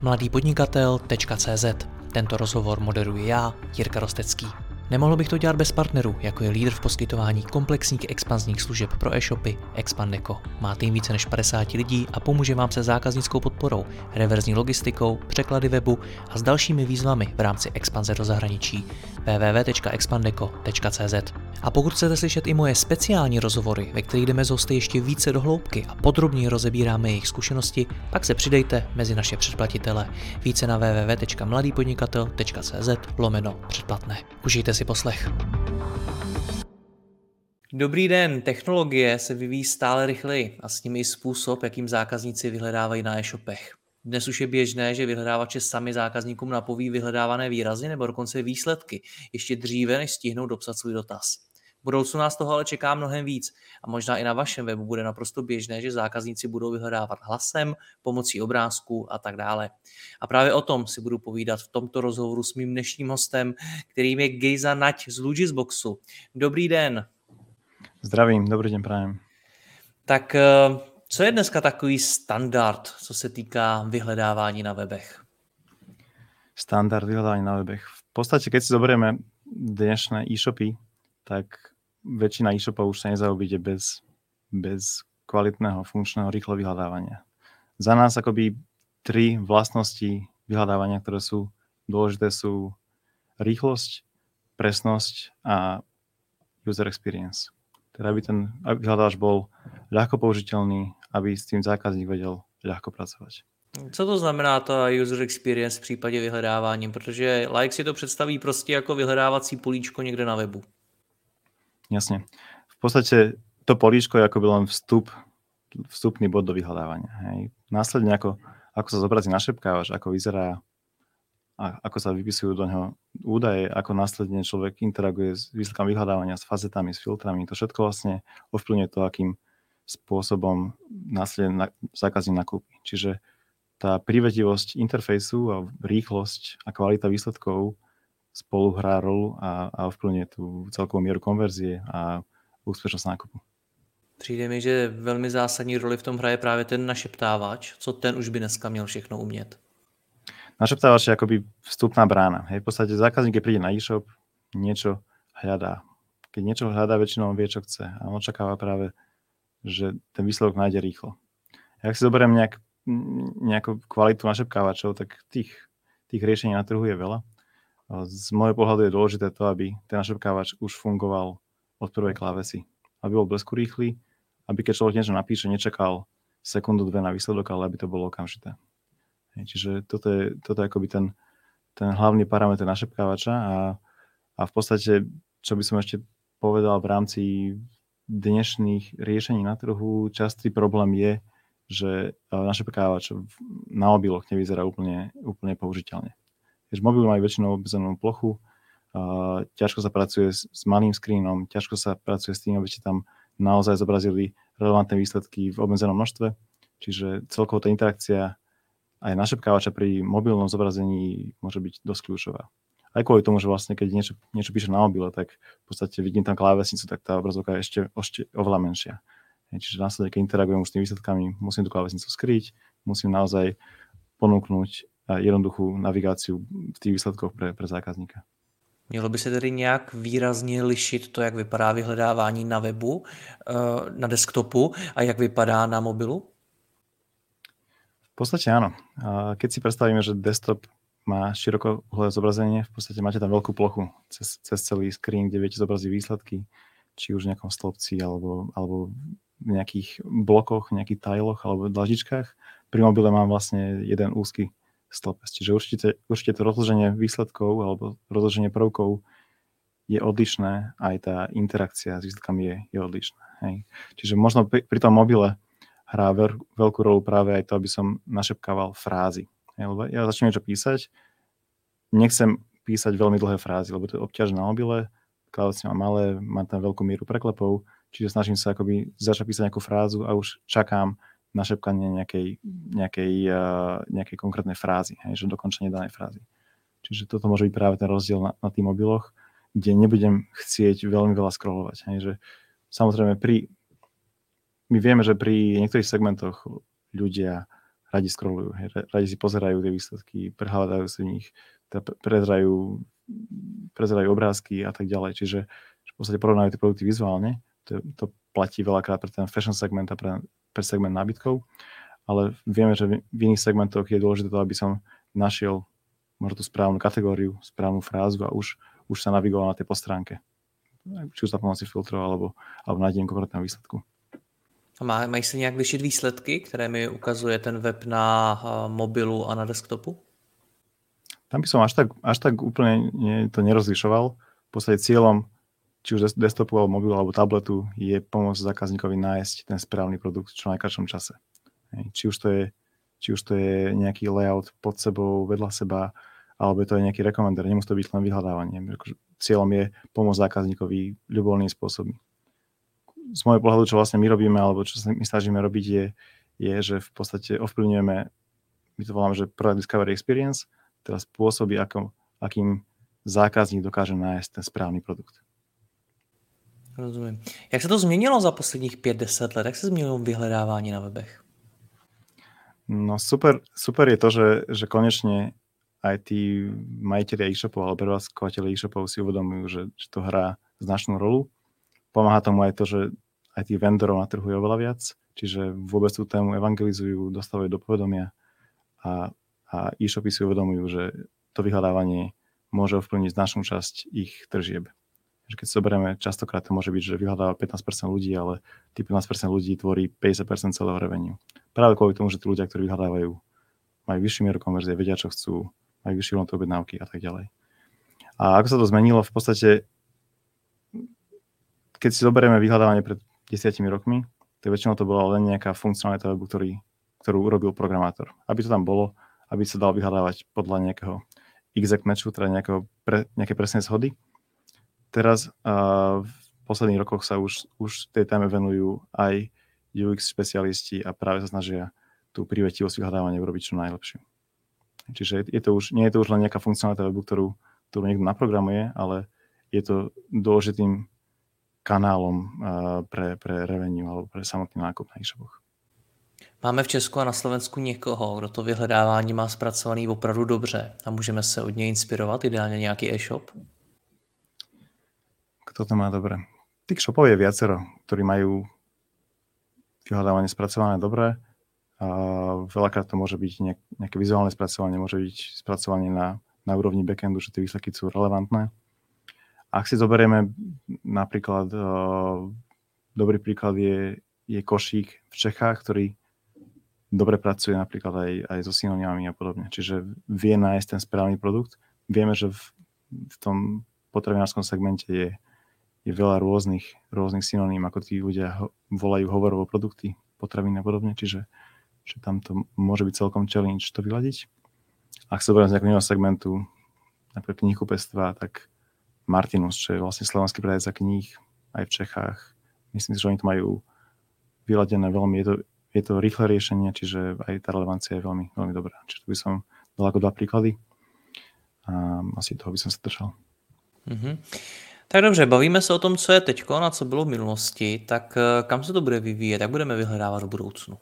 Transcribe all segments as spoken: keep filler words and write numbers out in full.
mladý podnikatel tečka cé zet. Tento rozhovor moderuji já, Jirka Rostecký. Nemohl bych to dělat bez partnerů, jako je lídr v poskytování komplexních expanzních služeb pro e-shopy Expandeco. Má tým více než padesát lidí a pomůže vám se zákaznickou podporou, reverzní logistikou, překlady webu a s dalšími výzvami v rámci expanze do zahraničí. w w w tečka expandeco tečka cé zet. A pokud chcete slyšet i moje speciální rozhovory, ve kterých jdeme s hosty ještě více do hloubky a podrobněji rozebíráme jejich zkušenosti, pak se přidejte mezi naše předplatitele. Více na w w w tečka mladý podnikatel tečka cé zet lomeno předplatné. Užijte si poslech. Dobrý den, technologie se vyvíjí stále rychleji a s nimi i způsob, jakým zákazníci vyhledávají na e-shopech. Dnes už je běžné, že vyhledávače sami zákazníkům napoví vyhledávané výrazy nebo dokonce výsledky, ještě dříve, než stihnou dopsat svůj dotaz. V budoucnu nás toho ale čeká mnohem víc a možná i na vašem webu bude naprosto běžné, že zákazníci budou vyhledávat hlasem, pomocí obrázků a tak dále. A právě o tom si budu povídat v tomto rozhovoru s mým dnešním hostem, kterým je Gejza Nať z Logisboxu. Dobrý den. Zdravím, dobrý den prajem. Tak co je dneska takový standard, co se týká vyhledávání na webech? Standard vyhľadávania na webech. V podstate, keď si zoberieme dnešné e-shopy, tak väčšina e-shopov už sa nezaobíde bez, bez kvalitného, funkčného, rýchleho vyhľadávania. Za nás akoby tri vlastnosti vyhľadávania, ktoré sú dôležité, sú rýchlosť, presnosť a user experience. Teda aby ten vyhľadávač bol ľahko použiteľný, aby s tým zákazník vedel ľahko pracovať. Co to znamená ta user experience v případě vyhledávání? Protože like si to představí prostě jako vyhledávací políčko někde na webu. Jasne. V podstate to políčko je akoby len vstup, vstupný bod do vyhľadávania. Hej. Následne ako, ako sa zobrazí našepkávač, ako vyzerá a ako sa vypisujú do neho údaje, ako následne človek interaguje s výsledkom vyhľadávania, s fazetami, s filtrami. To všetko vlastne ovplyvňuje to, akým spôsobom následne na, zákazník nakúpi. Čiže tá prívetivosť interfejsu a rýchlosť a kvalita výsledkov spolu hrá rolu a, a ovplyvňuje tú celkovú mieru konverzie a úspešnosť nákupu. Přijde mi, že velmi zásadní roli v tom hraje právě ten našeptávač. Co ten už by dneska měl všechno umět? Našeptávač je akoby vstupná brána. Hej, v podstate zákazník, keď príde na e-shop, niečo hľadá. Keď niečo hľadá, väčšinou vie, čo chce. A on očakáva práve, že ten výsledok nájde rýchlo. Ak si zoberiem nejak, nejakú kvalitu našepkávačov, tak tých, tých riešení na trhu je veľa. Z môjho pohľadu je dôležité to, aby ten našepkávač už fungoval od prvej klávesy. Aby bol blesku rýchly, aby keď človek niečo napíše, nečakal sekundu, dve na výsledok, ale aby to bolo okamžité. Čiže toto je, toto je akoby ten, ten hlavný parameter našepkávača a, a v podstate, čo by som ešte povedal v rámci dnešných riešení na trhu, častý problém je, že našepkávač na mobiloch nevyzerá úplne, úplne použiteľne. Keďže mobil majú väčšinou obmedzenú plochu, uh, ťažko sa pracuje s, s malým screenom, ťažko sa pracuje s tým, aby ste tam naozaj zobrazili relevantné výsledky v obmedzenom množstve, čiže celkovo tá interakcia aj našepkávača pri mobilnom zobrazení môže byť dosť kľúčová. Aj kvôli tomu, že vlastne keď niečo, niečo píše na mobile, tak v podstate vidím tam klávesnicu, tak tá obrazovka je ešte, ešte oveľa menšia. Čiže následne, keď interagujem už s tými výsledkami, musím tú klávesnicu skryť, musím naozaj ponúknuť jednoduchú navigáciu v tých výsledkoch pre, pre zákazníka. Mělo by se tedy nějak výrazně lišit to, jak vypadá vyhledávání na webu, na desktopu a jak vypadá na mobilu? V podstate áno. Keď si predstavíme, že desktop má širokouhlé zobrazenie, v podstate máte tam veľkú plochu cez, cez celý screen, kde viete zobraziť výsledky, či už v nejakom stĺpci alebo, alebo v nejakých blokoch, nejakých tiloch alebo dlažičkách. Pri mobile mám vlastne jeden úzky stĺpec. Čiže určite, určite to rozloženie výsledkov alebo rozloženie prvkov je odlišné, aj tá interakcia s výsledkami je, je odlišná. Hej. Čiže možno pri, pri tom mobile hrá veľ, veľkú rolu práve aj to, aby som našepkával frázy. Lebo ja začnem niečo písať, nechcem písať veľmi dlhé frázy, lebo to je obťaž na mobile, klávesy mám malé, mám tam veľkú mieru preklepov, čiže snažím sa akoby začať písať nejakú frázu a už čakám našepkanie nejakej, nejakej, uh, nejakej konkrétnej frázy, hej, že dokončenie danej frázy. Čiže toto môže byť práve ten rozdiel na, na tých mobiloch, kde nebudem chcieť veľmi veľa scrollovať. Hej, že samozrejme pri my vieme, že pri niektorých segmentoch ľudia radi scrollujú, hej, radi si pozerajú tie výsledky, prehľadajú si v nich, teda prezerajú, prezerajú obrázky a tak ďalej. Čiže v podstate porovnajú tie produkty vizuálne. To, to platí veľakrát pre ten fashion segment a pre, pre segment nábytkov, ale vieme, že v iných segmentoch je dôležité to, aby som našiel možno tú správnu kategóriu, správnu frázu a už, už sa navigoval na tej postránke. Či už za pomoci filtrov, alebo, alebo nájdem konkrétneho výsledku. A má, mají se nějak lišit výsledky, které mi ukazuje ten web na uh, mobilu a na desktopu? Tam by som až tak, až tak úplne nie, to nerozlišoval. V podstate cieľom či už desktopu, alebo mobilu, alebo tabletu je pomôcť zákazníkovi nájsť ten správny produkt v čo najkratšom čase. Či už to je, či už to je nejaký layout pod sebou, vedľa seba, alebo to je nejaký recommender, nemusí to byť len vyhľadávanie. Cieľom je pomôcť zákazníkovi ľubovoľným spôsobom. Z môjho pohľadu, čo vlastne my robíme, alebo čo sa my snažíme robiť, je, je že v podstate ovplyvňujeme, my to voláme, že Product Discovery Experience, teda spôsoby, ako, akým zákazník dokáže nájsť ten správný produkt. Rozumím. Jak se to změnilo za posledních pět deset let? Jak se změnilo vyhledávání na webech? No super, super je to, že, že konečne aj tí majiteľi e-shopov alebo prevádzkovateľi e-shopov si uvedomujú, že, že to hrá značnú rolu. Pomáha tomu aj to, že aj tých vendorov na trhu je oveľa viac, čiže vôbec tú tému evangelizujú, dostávajú do povedomia a, a e-shopy si uvedomujú, že to vyhľadávanie môže ovplyvniť značnú časť ich tržieb. Keď si zoberieme, častokrát to môže byť, že vyhľadáva pätnásť percent ľudí, ale tých pätnásť percent ľudí tvorí päťdesiat percent celého revenue. Práve kvôli tomu, že tí ľudia, ktorí vyhľadávajú, majú vyššiu mieru konverzie, vedia, čo chcú, majú vyššiu hodnotu objednávky a tak ďalej. A ako sa to zmenilo? V podstate, keď si zoberieme vyhľadávanie pred desiatimi rokmi, tak väčšinou to bola len nejaká funkcionalita webu, ktorý, ktorú urobil programátor. Aby to tam bolo, aby sa dal vyhľadávať podľa nejakého exact matchu, teda nejakého pre, nejaké presnej zhody. Teraz uh, v posledných rokoch sa už, už tej téme venujú aj ú iks špecialisti a práve sa snažia tú prívetivosť vyhľadávania urobiť čo najlepšiu. Čiže je, je to už, nie je to už len nejaká funkcionalita webu, ktorú, ktorú niekto naprogramuje, ale je to dôležitým kanálom uh, pre, pre revenue alebo pre samotný nákup na e-shopoch. Máme v Česku a na Slovensku někoho, kdo to vyhledávání má zpracovaný opravdu dobře a můžeme se od něj inspirovat, ideálně nějaký e-shop? Kto to má dobre? Tých shopov je viacero, ktorí majú vyhľadávanie spracované dobre. A veľakrát to môže byť nejak, nejaké vizuálne spracovanie, môže byť spracovanie na, na úrovni backendu, že tie výsledky sú relevantné. Ak si zoberieme napríklad, uh, dobrý príklad je, je Košík v Čechách, ktorý dobre pracuje napríklad aj, aj so synonymami a podobne. Čiže vie nájsť ten správny produkt. Vieme, že v, v tom potravinárskom segmente je je veľa rôznych, rôznych synoním, ako tí ľudia ho, volajú hovorovo produkty, potraviny a podobne, čiže že tam to môže byť celkom challenge to vyladiť. Ak sa zoberiem z nejakého segmentu, napríklad knihkupectva, tak Martinus, čo je vlastne slovenský predajca kníh aj v Čechách, myslím si, že oni to majú vyladené veľmi, je to, je to rýchle riešenie, čiže aj tá relevancia je veľmi, veľmi dobrá. Čiže tu by som dal ako dva príklady a asi toho by som sa držal. Mhm. Tak dobře, bavíme se o tom, co je teďko a co bylo v minulosti, tak kam se to bude vyvíjet, jak budeme vyhledávat v budoucnu?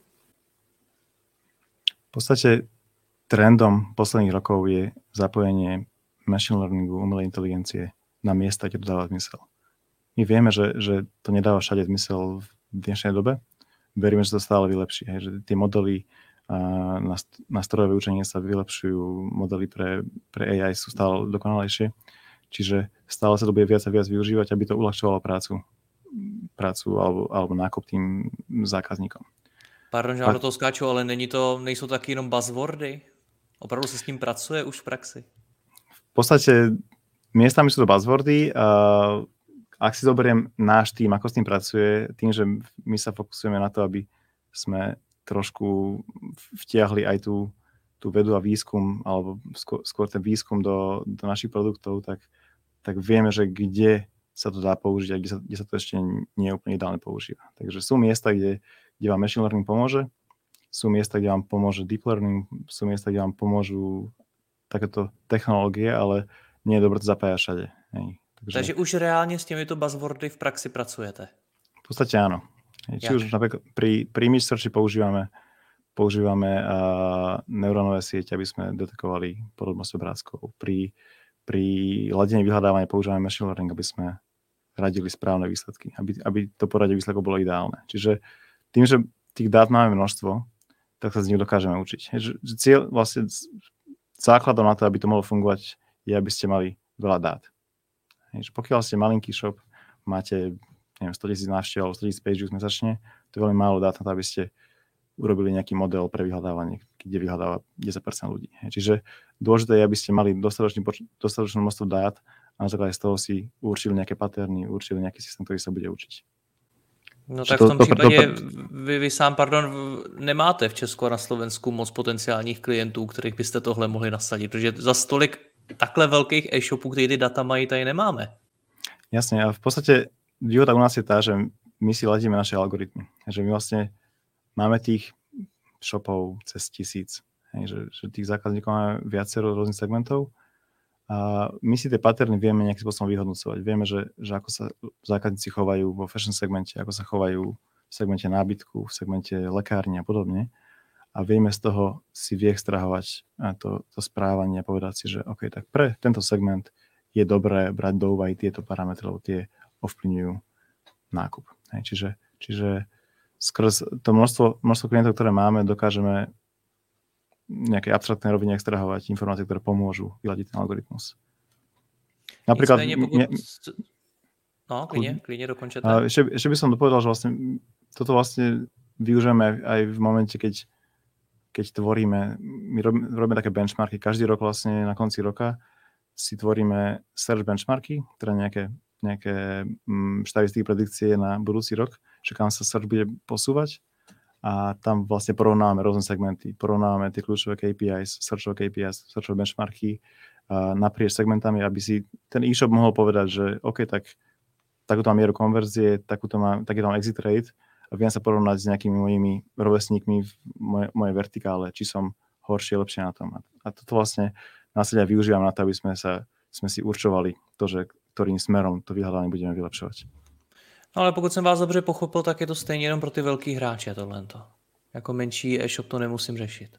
V podstate trendom posledných rokov je zapojenie machine learningu, umelej inteligencie na miesta, kde to dáva zmysel. My vieme, že, že to nedáva všade zmysel v dnešnej dobe. Veríme, že to stále vylepší. Hej, že tie modely na, na strojové učenie sa vylepšujú, modely pre, pre á í sú stále dokonalejšie. Čiže stále sa to bude viac a viac využívať, aby to uľahčovalo prácu, prácu alebo, alebo nákup tým zákazníkom. Pardon, že vám do toho skáču, ale není to, nejsou taky jenom buzzwordy? Opravdu se s tím pracuje už v praxi? V podstate miestami sú to buzzwordy. Ak si zoberiem náš tým, ako s tým pracuje, tým, že my sa fokusujeme na to, aby sme trošku vtiahli aj tú, tú vedu a výskum, alebo skôr, skôr ten výskum do, do našich produktov, tak tak vieme, že kde sa to dá použiť a kde sa, kde sa to ešte nie je úplne ideálne používa. Takže sú miesta, kde, kde vám machine learning pomôže, sú miesta, kde vám pomôže deep learning, sú miesta, kde vám pomôžu takéto technológie, ale nie je dobré to zapájať všade. Hej. Takže, Takže už reálne s týmito buzzwordy v praxi pracujete? V podstate áno. Hej. Či už napríklad pri, pri image searchi používame, používame uh, neurónové siete, aby sme detekovali podobnosť obrázkov. Pri, pri ladení vyhľadávania používame machine learning, aby sme radili správne výsledky, aby, aby to poradie výsledkov bolo ideálne. Čiže tým, že tých dát máme množstvo, tak sa z nich dokážeme učiť. Že, že cieľ, vlastne základom na to, aby to mohlo fungovať, je, aby ste mali veľa dát. Že pokiaľ ste malinký shop, máte neviem, sto tisíc návštev alebo sto tisíc page views mesačne, to je veľmi málo dát na to, aby ste urobili nejaký model pre vyhľadávanie, kde vyhľadáva desať percent ľudí. Čiže dôležité je, aby ste mali dostatočné množstvo dát a na základe z toho si určili nejaké paterny, určili nejaký systém, ktorý sa bude učiť. No tak to, v tom to, případě to, to, vy, vy sám, pardon, nemáte v Česku a na Slovensku moc potenciálních klientů, kterých byste tohle mohli nasadit, protože za stolik takhle velkých e-shopů, který ty data mají, tady nemáme. Jasne, a v podstate výhoda u nás je tá, že my si ladíme naše algoritmy. Že my vlastne máme tých shopov cez tisíc. Hej, že, že tých zákazníkov máme viacero rôznych segmentov a my si tie paterny vieme nejakým spôsobom vyhodnocovať. Vieme, že, že ako sa zákazníci chovajú vo fashion segmente, ako sa chovajú v segmente nábytku, v segmente lekárni a podobne. A vieme z toho si vyextrahovať to, to správanie a povedať si, že OK, tak pre tento segment je dobré brať do úvahy tieto parametre, tie ovplyvňujú nákup. Hej, čiže, čiže skrz to množstvo, množstvo klientov, ktoré máme, dokážeme nejaké abstraktné rovine extrahovať informácie, ktoré pomôžu vyladiť ten algoritmus. Napríklad... Pokud... Ne... No, klidne, klidne dokončete. Ešte, ešte by som dopovedal, že vlastne toto vlastne využijeme aj v momente, keď, keď tvoríme, my robíme, robíme také benchmarky. Každý rok vlastne na konci roka si tvoríme search benchmarky, teda nejaké, nejaké mm, štatistiky predikcie na budúci rok, že kam sa search bude posúvať. A tam vlastne porovnávame rôzne segmenty, porovnávame tie kľúčové K P Is, searchové K P Is, searchové benchmarky uh, naprieč segmentami, aby si ten e-shop mohol povedať, že OK, tak takúto mám mieru konverzie, takúto mám, taký tam exit rate a viem sa porovnať s nejakými mojimi rovesníkmi v moje, mojej vertikále, či som horšie, lepšie na tom. A toto vlastne následne využívam na to, aby sme, sa, sme si určovali to, že ktorým smerom to vyhľadávanie budeme vylepšovať. No ale pokud jsem vás dobře pochopil, tak je to stejně jenom pro ty velký hráče tohleto. Jako menší e-shop to nemusím řešit.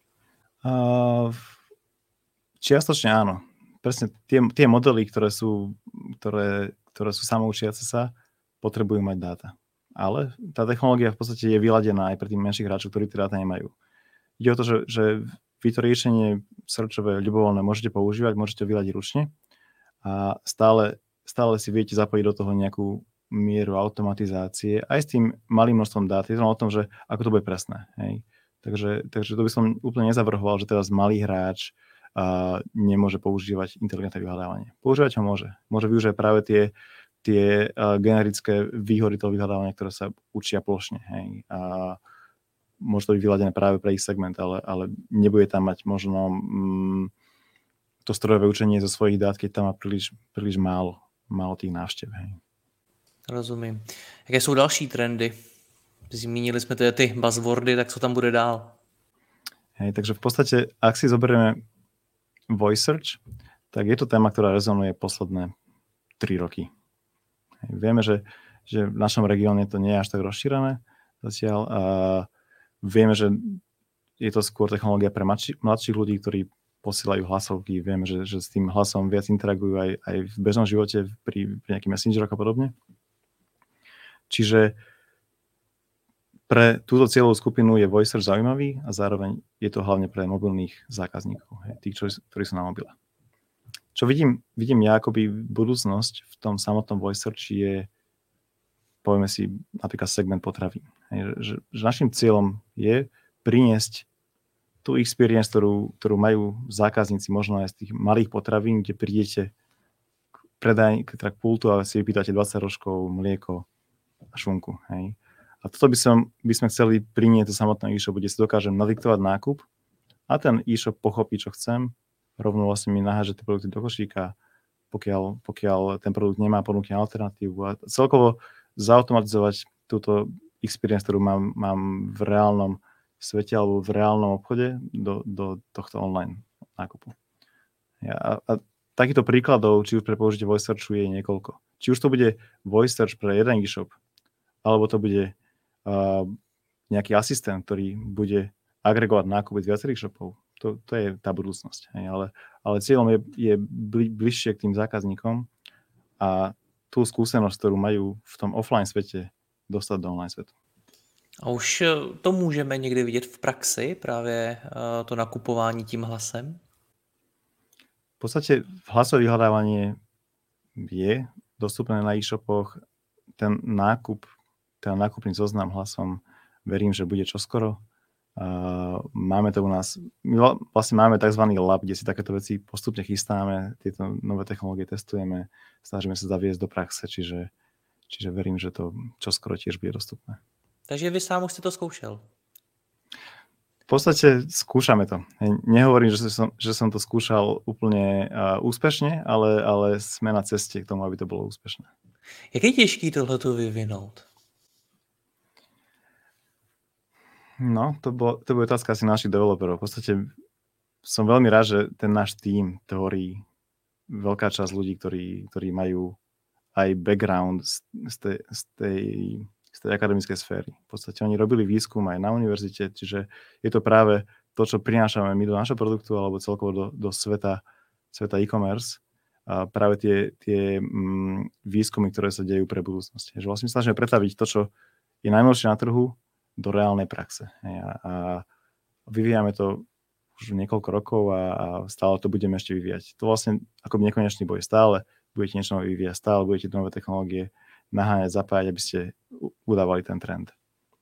Uh, čiastočne áno. Presne tie, tie modely, ktoré sú, ktoré, ktoré sú samoučiace sa, potrebujú mať dáta. Ale tá technológia v podstate je vyladená aj pre tých menších hráčov, ktorí tie dáta nemajú. Ide o to, že, že vy to riešenie searchové ľubovoľné môžete používať, môžete vyladiť ručne a stále, stále si viete zapojiť do toho nejakú mieru automatizácie, aj s tým malým množstvom dát. Je to o tom, že ako to bude presné. Hej. Takže, takže to by som úplne nezavrhoval, že teraz malý hráč uh, nemôže používať inteligentné vyhľadávanie. Používať ho môže. Môže využívať práve tie, tie uh, generické výhody toho vyhľadávania, ktoré sa učia plošne. Hej. A môže to byť vyladené práve pre ich segment, ale, ale nebude tam mať možno um, to strojové učenie zo svojich dát, keď tam má príliš, príliš málo, málo tých návštev. Hej. Rozumím. Jaké jsou další trendy? Zmínili jsme tedy ty buzzwordy, tak co tam bude dál? Hej, takže v podstate, ak si zoberieme voice search, tak je to téma, ktorá rezonuje posledné tri roky. Hej, vieme, že, že v našom regióne to nie je až tak rozšírené zatiaľ a vieme, že je to skôr technológia pre mladší, mladších ľudí, ktorí posielajú hlasovky. Vieme, že, že s tým hlasom viac interagujú aj, aj v bežnom živote pri, pri nejakých messengeroch a podobne. Čiže pre túto cieľovú skupinu je voice search zaujímavý a zároveň je to hlavne pre mobilných zákazníkov, hej, tých, čo, ktorí sú na mobile. Čo vidím, vidím ja akoby budúcnosť v tom samotnom voice search je, povieme si, napríklad segment potravín. Hej, že, že našim cieľom je priniesť tú experience, ktorú, ktorú majú zákazníci možno aj z tých malých potravín, kde prídete k predaj, k, k pultu a si vypýtate dvadsať rožkov, mlieko a šunku. Hej. A toto by, som, by sme chceli priniesť do samotného e-shopu, kde si dokážem nadiktovať nákup a ten e-shop pochopí, čo chcem, rovno vlastne mi naháže tie produkty do košíka, pokiaľ, pokiaľ ten produkt nemá ponúkne alternatívu a celkovo zautomatizovať túto experience, ktorú mám, mám v reálnom svete alebo v reálnom obchode do, do tohto online nákupu. Ja, a takýchto príkladov, či už pre použitie voice searchu je niekoľko. Či už to bude voice search pre jeden e-shop, alebo to bude uh, nejaký asistent, ktorý bude agregovať nákupy z viacerých shopov. To, to je tá budúcnosť. Hej. Ale, ale cieľom je, je bli, bližšie k tým zákazníkom a tú skúsenosť, ktorú majú v tom offline svete, dostať do online svetu. A už to můžeme někdy vidět v praxi, právě to nakupování tím hlasem? V podstate hlasové vyhľadávanie je dostupné na e-shopoch. Ten nákup, ten nákupný zoznam hlasom, verím, že bude čoskoro. Uh, máme to u nás, my vlastne máme tzv. Lab, kde si takéto veci postupne chystáme, tieto nové technológie testujeme, snažíme sa zaviesť do praxe, čiže, čiže verím, že to čoskoro tiež bude dostupné. Takže vy sám už ste to skúšel? V podstate skúšame to. Nehovorím, že som, že som to skúšal úplne uh, úspešne, ale, ale sme na ceste k tomu, aby to bolo úspešné. Jak je těžký tohleto vyvinout? No, to, bolo, to bude otázka asi našich developerov. V podstate som veľmi rád, že ten náš tím tvorí veľká časť ľudí, ktorí, ktorí majú aj background z, z, tej, z, tej, z tej akademickej sféry. V podstate oni robili výskum aj na univerzite, čiže je to práve to, čo prinášame my do našho produktu alebo celkovo do, do sveta, sveta e-commerce. A práve tie, tie mm, výskumy, ktoré sa dejú pre budúcnosť. Že vlastne snažíme pretaviť to, čo je najnovšie na trhu, do reálnej praxe. A, a vyvíjame to už niekoľko rokov a, a stále to budeme ešte vyvíjať. To vlastne akoby nekonečný boj. Stále budete niečo nové vyvíjať, stále budete nové technológie naháňať, zapájať, aby ste udávali ten trend.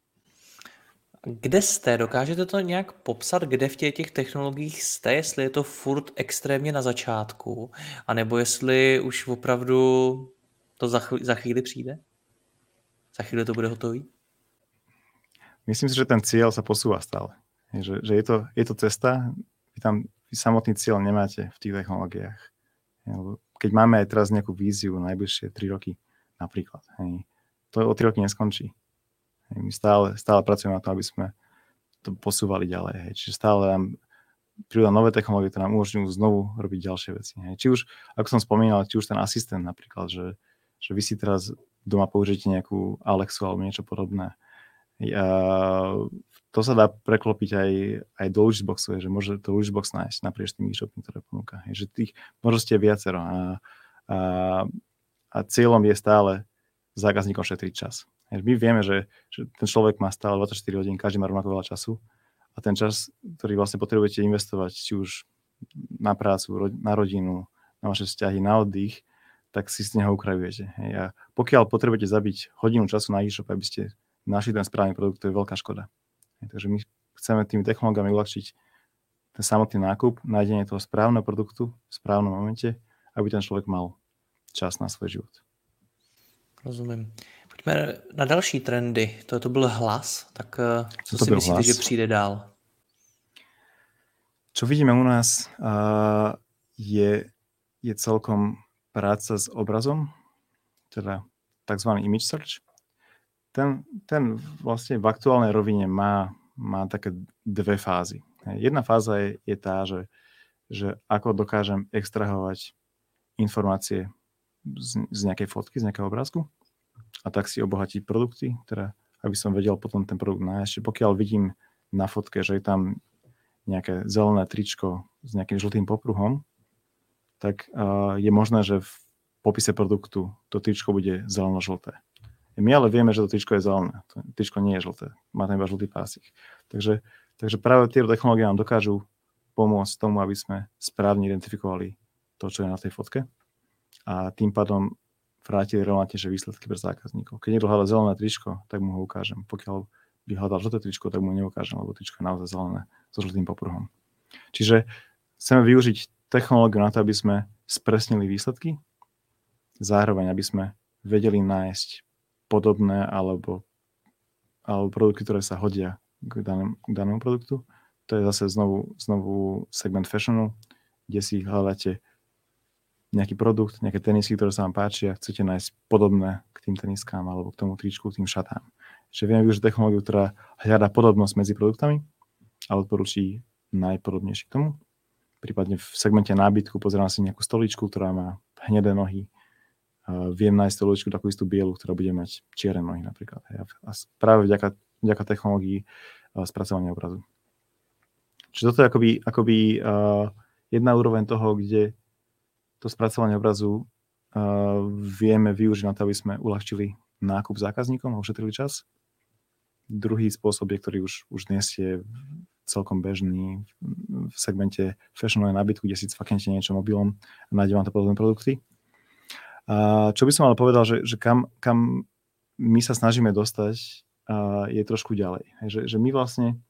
Kde jste? Dokážete to nějak popsat, kde v těch, těch technologiích jste? Jestli je to furt extrémně na začátku, anebo jestli už opravdu to za, chvíli, za chvíli přijde? Za chvíli to bude hotový? Myslím si, že ten cieľ sa posúva stále. Že, že je, to, je to cesta, vy tam vy samotný cieľ nemáte v tých technológiách. Keď máme aj teraz nejakú víziu na najbližšie tri roky napríklad, hej, to o tri roky neskončí. Hej, my stále, stále pracujeme na to, aby sme to posúvali ďalej. Hej. Čiže stále nám prídu nové technológie, ktoré nám umožňujú znovu robiť ďalšie veci. Hej. Či už, ako som spomínal, či už ten asistent napríklad, že, že vy si teraz doma použijete nejakú Alexu alebo niečo podobné. A to sa dá preklopiť aj, aj do Luxboxu, že môže to Luxbox nájsť naprieč tým e-shopom, ktoré ponúka. Že tých možností je viacero a, a, a cieľom je stále zákazníkom šetriť čas. My vieme, že, že ten človek má stále dvadsaťštyri hodín, každý má rovnako veľa času a ten čas, ktorý vlastne potrebujete investovať, či už na prácu, na rodinu, na vaše vzťahy, na oddych, tak si z neho ukrajujete. A pokiaľ potrebujete zabiť hodinu času na e-shop, aby ste našli ten správny produkt, to je veľká škoda. Takže my chceme tými technológiami uľahčiť ten samotný nákup, nájdenie toho správneho produktu v správnom momente, aby ten človek mal čas na svoj život. Rozumím. Pojďme na další trendy. To, to byl hlas, tak co to si myslíte, hlas. že přijde dál? Čo vidíme u nás uh, je, je celkom práca s obrazom, teda tzv. Image search. Ten, ten vlastne v aktuálnej rovine má, má také dve fázy. Jedna fáza je, je tá, že, že ako dokážem extrahovať informácie z, z nejakej fotky, z nejakého obrázku a tak si obohatiť produkty, teda aby som vedel potom ten produkt nájsť. Pokiaľ vidím na fotke, že je tam nejaké zelené tričko s nejakým žltým popruhom, tak uh, je možné, že v popise produktu to tričko bude zeleno-žlté. My ale vieme, že to tričko je zelené. To tričko nie je žlté. Má tam iba žltý pásik. Takže, takže práve tie technológie nám dokážu pomôcť tomu, aby sme správne identifikovali to, čo je na tej fotke a tým pádom vrátili relevantnejšie výsledky pre zákazníkov. Keď niekto hľadá zelené tričko, tak mu ho ukážem. Pokiaľ by hľadal žlté tričko, tak mu neukážem, lebo tričko je naozaj zelené so žltým popruhom. Čiže chceme využiť technológiu na to, aby sme spresnili výsledky, zároveň aby sme vedeli nájsť podobné alebo, alebo produkty, ktoré sa hodia k danému, k danému produktu. To je zase znovu, znovu segment fashionu, kde si hľadáte nejaký produkt, nejaké tenisky, ktoré sa vám páčia a chcete nájsť podobné k tým teniskám alebo k tomu tričku, k tým šatám. Čiže vieme využiť technológiu, ktorá hľadá podobnosť medzi produktami a odporúči najpodobnejší k tomu. Prípadne v segmente nábytku pozerám si nejakú stoličku, ktorá má hnedé nohy. Uh, viem nájsť stoličku takú istú bielu, ktorá bude mať čierne nohy napríklad. A práve vďaka, vďaka technológii uh, spracovania obrazu. Čiže toto je akoby, akoby uh, jedna úroveň toho, kde to spracovanie obrazu uh, vieme využiť na to, aby sme uľahčili nákup zákazníkom a ušetrili čas. Druhý spôsob je, ktorý už, už dnes je celkom bežný v segmente fashionovej nábytku, kde si cvaknete niečo mobilom a nájde vám to podobné produkty. A čo by som ale povedal, že, že kam, kam my sa snažíme dostať, a je trošku ďalej. Že, že my vlastne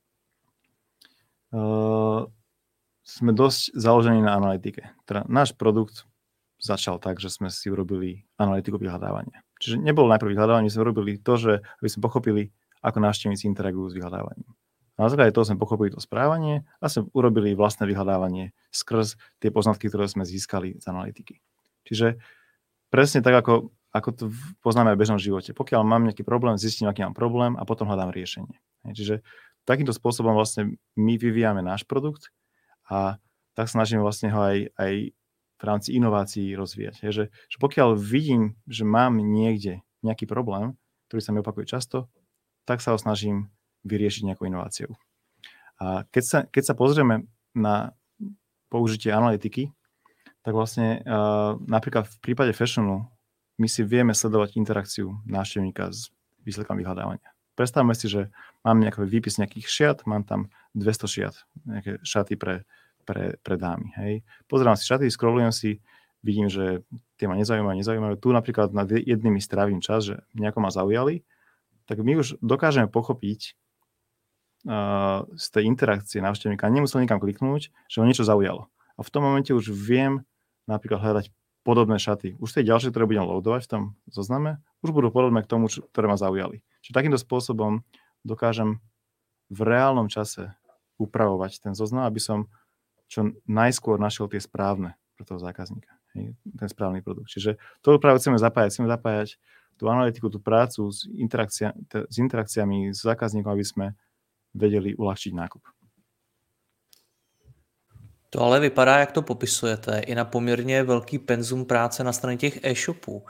uh, sme dosť založení na analytike. Teda náš produkt začal tak, že sme si urobili analytiku vyhľadávania. Čiže nebolo najprv vyhľadávanie, my sme urobili to, že aby sme pochopili, ako návštevníci interagujú s vyhľadávaním. Na základe toho sme pochopili to správanie a sme urobili vlastné vyhľadávanie skrz tie poznatky, ktoré sme získali z analytiky. Čiže presne tak, ako, ako to poznáme aj v bežnom živote. Pokiaľ mám nejaký problém, zistím, aký mám problém a potom hľadám riešenie. Čiže takýmto spôsobom vlastne my vyvíjame náš produkt a tak snažíme vlastne ho aj, aj v rámci inovácií rozvíjať. Že, že pokiaľ vidím, že mám niekde nejaký problém, ktorý sa mi opakuje často, tak sa ho snažím vyriešiť nejakou inováciou. A keď sa, keď sa pozrieme na použitie analytiky, tak vlastne uh, napríklad v prípade fashionu my si vieme sledovať interakciu návštevníka s výsledkom vyhľadávania. Predstavme si, že mám nejaký výpis nejakých šiat, mám tam dvesto šiat, nejaké šaty pre, pre, pre dámy. Hej. Pozerám si šaty, scrollujem si, vidím, že tie ma nezaujímajú, nezaujímajú. Tu napríklad nad jednými strávim čas, že nejako ma zaujali, tak my už dokážeme pochopiť uh, z tej interakcie návštevníka, nemusel nikam kliknúť, že ho niečo zaujalo. A v tom momente už viem napríklad hľadať podobné šaty. Už tie ďalšie, ktoré budem loadovať v tom zozname, už budú podobné k tomu, čo, ktoré ma zaujali. Čiže takýmto spôsobom dokážem v reálnom čase upravovať ten zoznam, aby som čo najskôr našiel tie správne pre toho zákazníka. Hej, ten správny produkt. Čiže to práve chceme zapájať. Chceme zapájať tú analytiku, tú prácu s, interakcia, t- s interakciami s zákazníkom, aby sme vedeli uľahčiť nákup. To ale vypadá, jak to popisujete, i na poměrně velký penzum práce na straně těch e-shopů.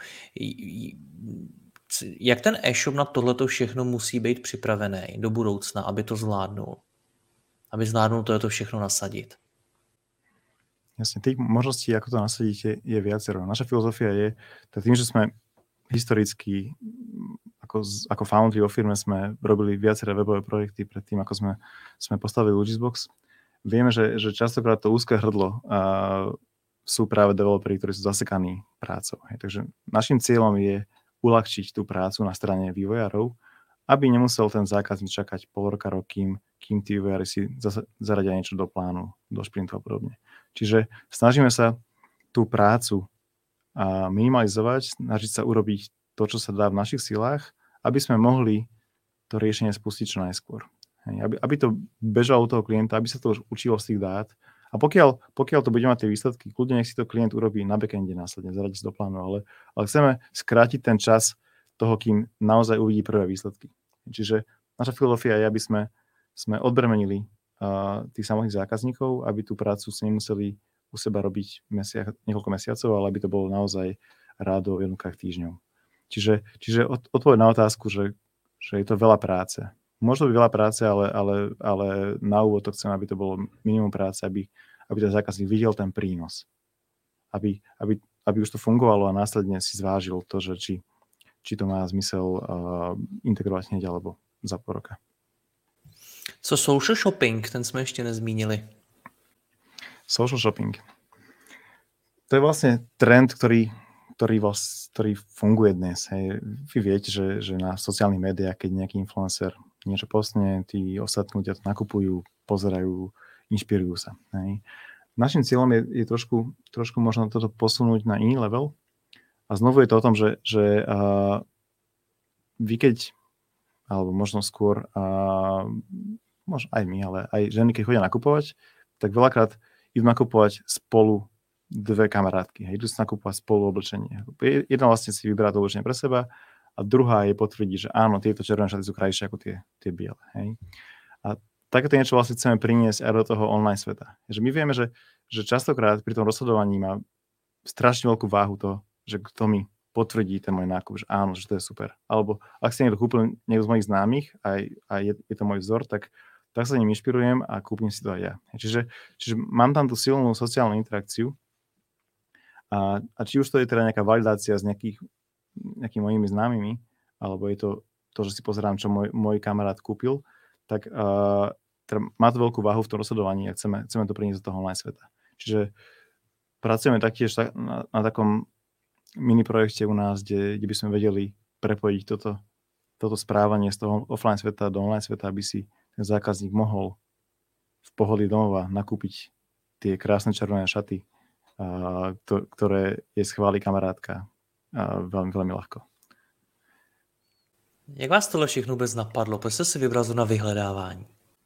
Jak ten e-shop na tohleto všechno musí být připravený do budoucna, aby to zvládnul? Aby zvládnul tohleto všechno nasadit? Jasne, tých možností, ako to nasadiť, je, je viacero. Naša filozofia je, tým, že sme historicky, ako, ako foundry vo firme sme robili viaceré webové projekty pred tým, ako sme, sme postavili Logisbox. Vieme, že, že častokrát to úzke hrdlo uh, sú práve developeri, ktorí sú zasekaní prácou. Hej. Takže našim cieľom je uľahčiť tú prácu na strane vývojárov, aby nemusel ten zákazník čakať pol roka, rok, kým, kým tí vývojári si zase zaradia niečo do plánu, do šprintu a podobne. Čiže snažíme sa tú prácu uh, minimalizovať, snažiť sa urobiť to, čo sa dá v našich silách, aby sme mohli to riešenie spustiť čo najskôr. Hej, aby, aby to bežalo u toho klienta, aby sa to už učilo z tých dát. A pokiaľ, pokiaľ to bude mať tie výsledky, kľudne nech si to klient urobí na backende následne, zaradí si do plánu, ale, ale chceme skrátiť ten čas toho, kým naozaj uvidí prvé výsledky. Čiže naša filozofia je, aby sme, sme odbremenili uh, tých samotných zákazníkov, aby tú prácu si nemuseli u seba robiť mesiac, niekoľko mesiacov, ale aby to bolo naozaj rádo v jednotkách týždňov. Čiže, čiže od, odpoveď na otázku, že, že je to veľa práce. Môže to byť veľa práce, ale, ale, ale na úvod to chcem, aby to bolo minimum práce, aby, aby ten zákazník videl ten prínos. Aby, aby, aby už to fungovalo a následne si zvážil to, že či, či to má zmysel uh, integrovať hneď alebo za pol roka. Co social shopping, ten jsme ještě nezmínili. Social shopping. To je vlastne trend, ktorý Ktorý, vlast, ktorý funguje dnes. Hej. Vy viete, že, že na sociálnych médiách, keď nejaký influencer niečo postne, tí ostatní ľudia to nakupujú, pozerajú, inšpirujú sa. Hej. Našim cieľom je, je trošku, trošku možno toto posunúť na iný level. A znovu je to o tom, že, že uh, vy keď, alebo možno skôr, uh, možno aj my, ale aj ženy, keď chodia nakupovať, tak veľakrát idú nakupovať spolu dve kamarátky. Hej, idú sa nakúpovať spolu oblečenie. Jedna vlastne si vyberá to oblečenie pre seba a druhá je potvrdí, že áno, tieto červené šaty sú krajšie ako tie, tie biele. Hej. A takéto niečo vlastne chceme priniesť aj do toho online sveta. Že my vieme, že, že častokrát pri tom rozhodovaní má strašne veľkú váhu to, že kto mi potvrdí ten môj nákup, že áno, že to je super. Alebo ak si niekto kúpil niekto z mojich známych a, a je, je to môj vzor, tak, tak sa ním inšpirujem a kúpim si to aj ja. Čiže, čiže mám tam tú silnú sociálnu interakciu a, a či už to je teda nejaká validácia z nejakých, nejakými mojimi známymi, alebo je to to, že si pozerám, čo môj, môj kamarát kúpil, tak uh, teda má to veľkú váhu v tom rozhodovaní a chceme, chceme to priniesť do toho online sveta. Čiže pracujeme taktiež na, na takom mini projekte u nás, kde, kde by sme vedeli prepojiť toto, toto správanie z toho offline sveta do online sveta, aby si ten zákazník mohol v pohodlí domova nakúpiť tie krásne červené šaty, a, to, ktoré je schválí kamarátka a veľmi, veľmi ľahko. Jak vás tohle všechno vůbec napadlo? Proč jste si vybral na vyhledávání?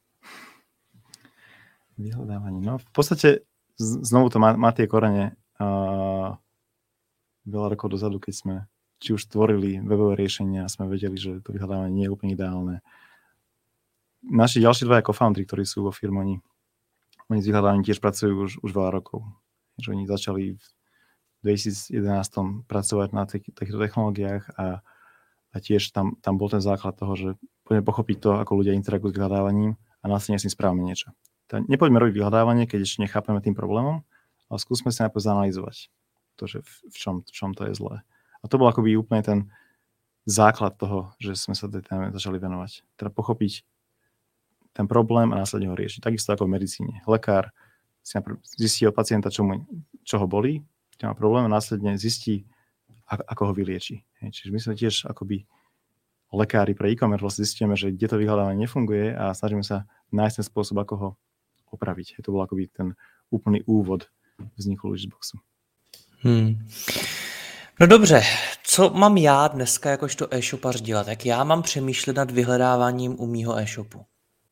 Vyhľadávanie. No v podstate znovu to má, má tie korene a veľa rokov dozadu, keď sme či už tvorili webové riešenia a sme vedeli, že to vyhľadávanie nie je úplne ideálne. Naši ďalší dvaja co-founderi, ktorí sú vo firme, oni, oni s vyhľadávaním tiež pracujú už, už veľa rokov. Že oni začali v dvetisíc jedenásť pracovať na tých, týchto technológiách a, a tiež tam, tam bol ten základ toho, že poďme pochopiť to, ako ľudia interagujú s vyhľadávaním a následne s tým správame niečo. Tá, nepoďme robiť vyhľadávanie, keď ešte nechápeme tým problémom, ale skúsme si najprv zanalýzovať to, že v, v, čom, v čom to je zlé. A to bol akoby úplne ten základ toho, že sme sa tej téme začali venovať. Teda pochopiť ten problém a následne ho riešiť. Takisto ako v medicíne. Lekár si najprv zistí od pacienta, čo, mu, čo ho bolí, čo má problém a následne zistí, ako ho vylieči. Čiže my sme tiež akoby lekári pre e-commerce vlastne zistíme, že kde to vyhľadávanie nefunguje a snažíme sa nájsť ten spôsob, ako ho opraviť. To bol akoby ten úplný úvod vzniku Lugisboxu. Hmm. No dobře, co mám já dneska jakožto e-shopař dělat? Jak já mám přemýšlet nad vyhledáváním u mýho e-shopu?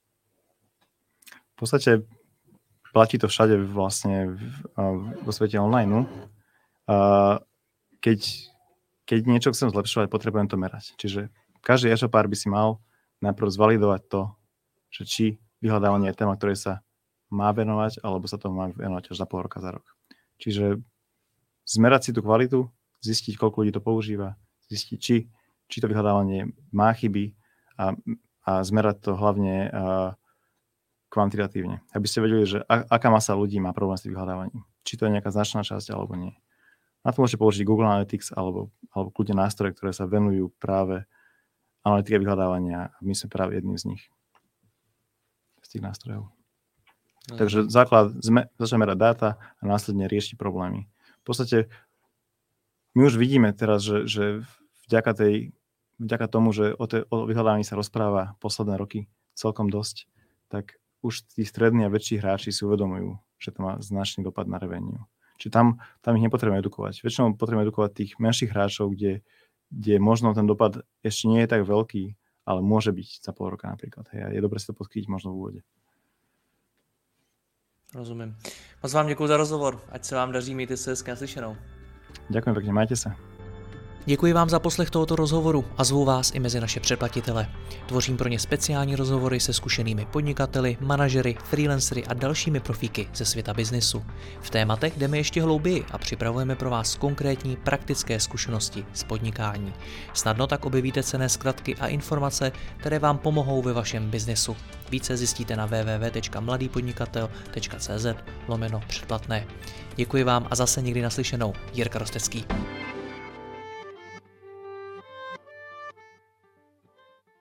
V podstate platí to všade vlastne vo svete online. Keď, keď niečo chcem zlepšovať, potrebujem to merať. Čiže každý e-shopár by si mal najprv zvalidovať to, že či vyhľadávanie je téma, ktorej sa má venovať, alebo sa tomu má venovať až za pol roka, za rok. Čiže zmerať si tú kvalitu, zistiť, koľko ľudí to používa, zistiť, či, či to vyhľadávanie má chyby a, a zmerať to hlavne a, kvantitatívne. Aby ste vedeli, že a, aká masa ľudí má problém s tým vyhľadávaním. Či to je nejaká značná časť, alebo nie. Na to môžete použiť Google Analytics alebo, alebo kľudne nástroje, ktoré sa venujú práve analytike vyhľadávania. My sme práve jedným z nich. Z tých nástrojov. No. Takže základ, začneme merať dáta a následne riešiť problémy. V podstate my už vidíme teraz, že, že vďaka, tej, vďaka tomu, že o, te, o vyhľadávaní sa rozpráva posledné roky celkom dosť, tak už tí strední a väčší hráči si uvedomujú, že to má značný dopad na revenue. Čiže tam, tam ich nepotrebujeme edukovať. Väčšinou potrebujeme edukovať tých menších hráčov, kde, kde možno ten dopad ešte nie je tak veľký, ale môže byť za pol roka napríklad. Hej, je dobre si to podchytiť možno v úvode. Rozumím. Moc vám děkuji za rozhovor. Ať se vám daří, mějte se hezky naslyšenou. Ďakujem pekne, majte sa. Děkuji vám za poslech tohoto rozhovoru a zvu vás i mezi naše předplatitele. Tvořím pro ně speciální rozhovory se zkušenými podnikateli, manažery, freelancery a dalšími profíky ze světa biznesu. V tématech jdeme ještě hlouběji a připravujeme pro vás konkrétní praktické zkušenosti z podnikání. Snadno tak objevíte cenné zkratky a informace, které vám pomohou ve vašem biznesu. Více zjistíte na w w w tečka mladýpodnikatel tečka cz lomeno předplatné. Děkuji vám a zase někdy naslyšenou. Jirka Rostecký.